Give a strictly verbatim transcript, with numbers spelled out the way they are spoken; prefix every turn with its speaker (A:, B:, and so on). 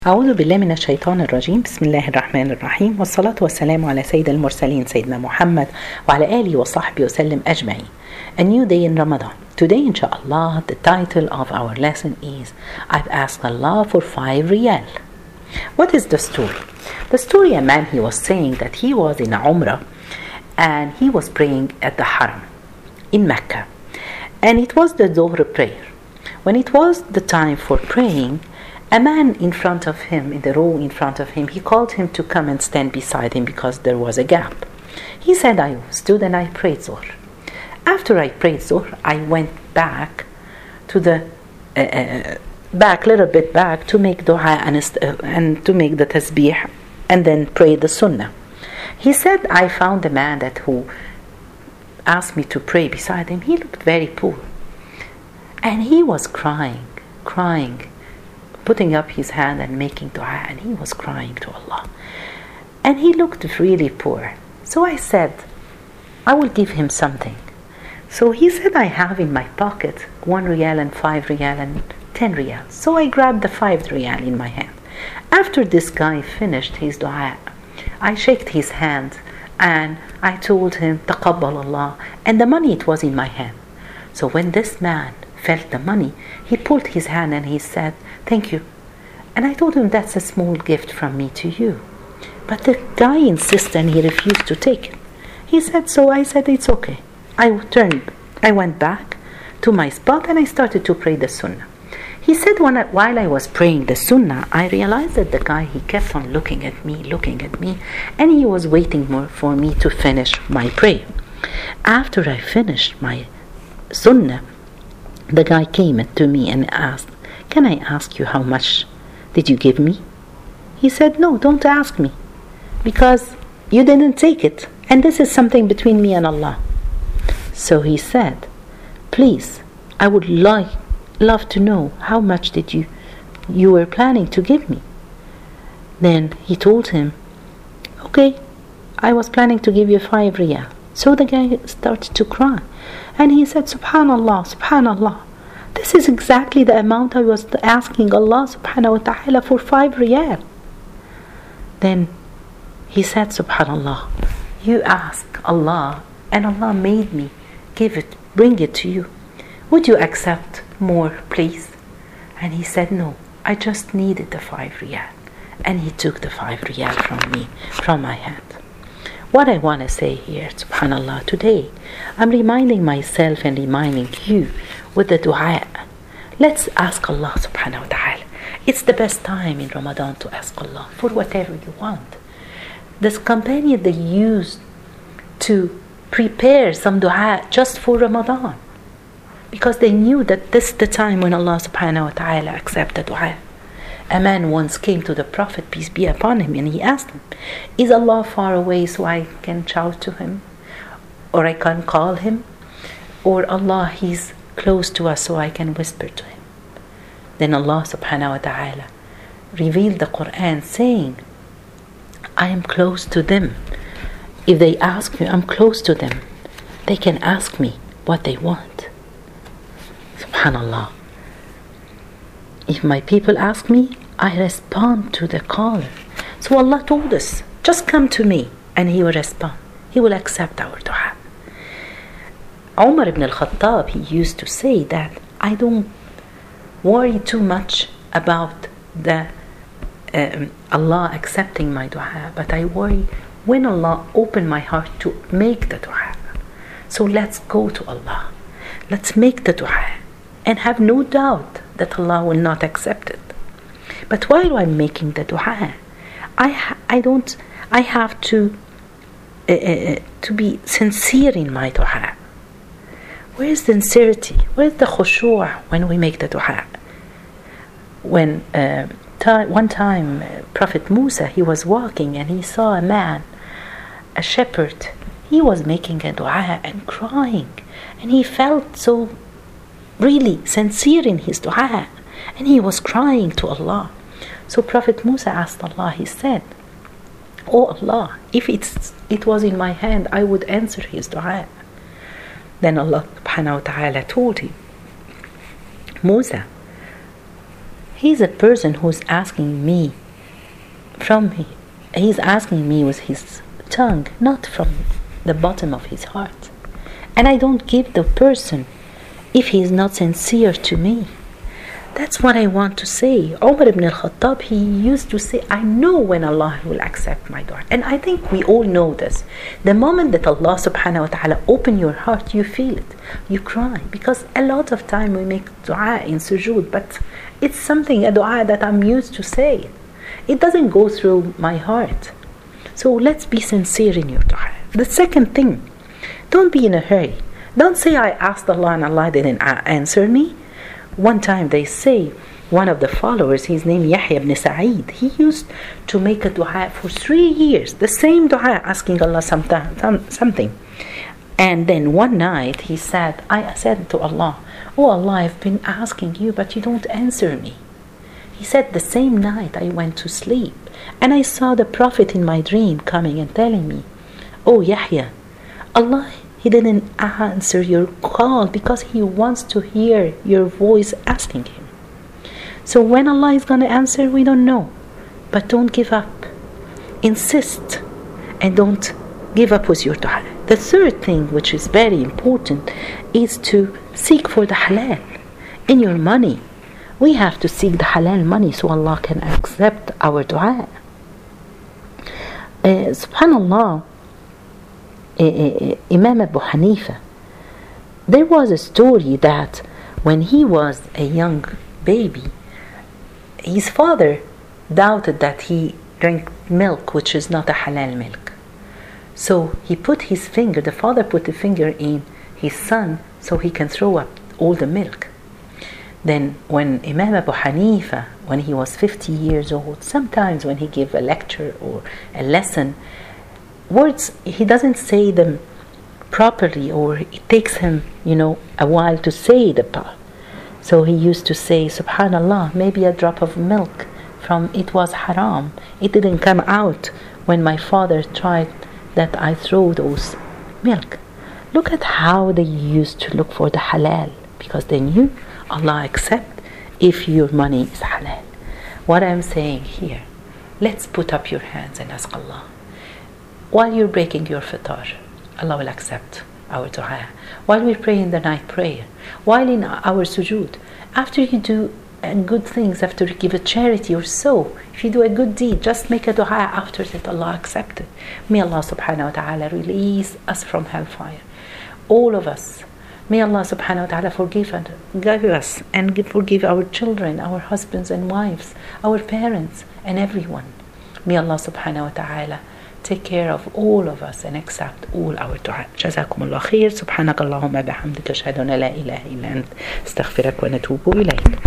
A: أعوذ بالله من الشيطان الرجيم. بسم الله الرحمن الرحيم، والصلاة والسلام على سيد المرسلين سيدنا محمد وعلى آله وصحبه وسلم أجمعين. A new day in Ramadan. Today, inshallah, the title of our lesson is I've asked Allah for five riyal. What is the story? The story, a man, he was saying that he was in Umrah and he was praying at the Haram in Mecca. And it was the Dhuhr prayer. When it was the time for praying, a man in front of him, in the row in front of him, he called him to come and stand beside him because there was a gap. He said, I stood and I prayed Dhuhr. After I prayed Dhuhr, I went back to the, uh, uh, back, little bit back to make dua and, uh, and to make the tasbih and then pray the sunnah. He said, I found a man that who asked me to pray beside him. He looked very poor. And he was crying, crying, putting up his hand and making dua, and he was crying to Allah. And he looked really poor. So I said, I will give him something. So he said, I have in my pocket one riyal and five riyal and ten riyal. So I grabbed the five riyal in my hand. After this guy finished his dua, I shook his hand and I told him, Taqabbal Allah. And the money, it was in my hand. So when this man felt the money, he pulled his hand and he said, thank you. And I told him, that's a small gift from me to you. But the guy insisted and he refused to take it. He said, so I said, it's okay. I turned, I went back to my spot and I started to pray the sunnah. He said, when I, while I was praying the sunnah, I realized that the guy, he kept on looking at me, looking at me, and he was waiting more for me to finish my prayer. After I finished my sunnah, the guy came to me and asked, can I ask you how much did you give me? He said, no, don't ask me, because you didn't take it, and this is something between me and Allah. So he said, please, I would like, love to know how much did you, you were planning to give me. Then he told him, okay, I was planning to give you five riyal. So the guy started to cry. And he said, Subhanallah, Subhanallah. This is exactly the amount I was asking Allah subhanahu wa ta'ala for five riyal. Then he said, Subhanallah, you ask Allah and Allah made me give it, bring it to you. Would you accept more, please? And he said, no, I just needed the five riyal. And he took the five riyal from me, from my hand. What I want to say here, subhanallah, today, I'm reminding myself and reminding you with the dua. Let's ask Allah subhanahu wa ta'ala. It's the best time in Ramadan to ask Allah for whatever you want. This companion, they used to prepare some dua just for Ramadan, because they knew that this is the time when Allah subhanahu wa ta'ala accepts the dua. A man once came to the Prophet, peace be upon him, and he asked him, is Allah far away so I can shout to him? Or I can call him? Or Allah, he's close to us so I can whisper to him? Then Allah subhanahu wa ta'ala revealed the Quran saying, I am close to them. If they ask me, I'm close to them. They can ask me what they want. Subhanallah. If my people ask me, I respond to the caller. So Allah told us, just come to me and He will respond. He will accept our dua. Umar ibn al-Khattab, he used to say that I don't worry too much about the um, Allah accepting my dua, but I worry when Allah open my heart to make the dua. So let's go to Allah. Let's make the dua and have no doubt that Allah will not accept it. But while I'm making the dua, I ha- I don't I have to uh, uh, to be sincere in my dua. Where is sincerity? Where is the khushu' when we make the dua? When uh, t- one time uh, Prophet Musa, he was walking and he saw a man, a shepherd. He was making a dua and crying, and he felt so really sincere in his dua, and he was crying to Allah. So Prophet Musa asked Allah, he said, oh Allah, if it's, it was in my hand, I would answer his dua. Then Allah subhanahu wa ta'ala told him, Musa, He's a person who's asking me from he, he's asking me with his tongue, not from the bottom of his heart. And I don't give the person if he is not sincere to me. That's what I want to say. Umar ibn al-Khattab, he used to say, I know when Allah will accept my dua. And I think we all know this. The moment that Allah subhanahu wa ta'ala open your heart, you feel it. You cry. Because a lot of time we make dua in sujood, but it's something, a dua that I'm used to say. It doesn't go through my heart. So let's be sincere in your dua. The second thing, don't be in a hurry. Don't say I asked Allah and Allah didn't answer me. One time they say, one of the followers, his name Yahya ibn Sa'id, he used to make a dua for three years, the same dua, asking Allah something. And then one night he said, I said to Allah, oh Allah, I've been asking you, but you don't answer me. He said, the same night I went to sleep, and I saw the Prophet in my dream coming and telling me, oh Yahya, Allah, He didn't answer your call because He wants to hear your voice asking Him. So when Allah is going to answer, we don't know. But don't give up. Insist and don't give up with your dua. The third thing, which is very important, is to seek for the halal in your money. We have to seek the halal money so Allah can accept our dua. Uh, Subhanallah, Imam Abu Hanifa, there was a story that when he was a young baby, his father doubted that he drank milk which is not a halal milk. So he put his finger, the father put the finger in his son so he can throw up all the milk. Then when Imam Abu Hanifa, when he was fifty years old, sometimes when he gave a lecture or a lesson, words, he doesn't say them properly, or it takes him, you know, a while to say the part. So he used to say, Subhanallah, maybe a drop of milk from it was haram. It didn't come out when my father tried that I throw those milk. Look at how they used to look for the halal, because they knew Allah accept if your money is halal. What I'm saying here, let's put up your hands and ask Allah. While you're breaking your fitar, Allah will accept our dua. While we're praying the night prayer, while in our sujood, after you do good things, after you give a charity or so, if you do a good deed, just make a dua after that, Allah accept it. May Allah subhanahu wa ta'ala release us from hellfire. All of us. May Allah subhanahu wa ta'ala forgive us and forgive our children, our husbands and wives, our parents and everyone. May Allah subhanahu wa ta'ala take care of all of us and accept all our dua. جزاكم الله خير. سبحانك اللهم بحمدك أشهد أن لا إله إلا أنت استغفرك ونتوب إليك.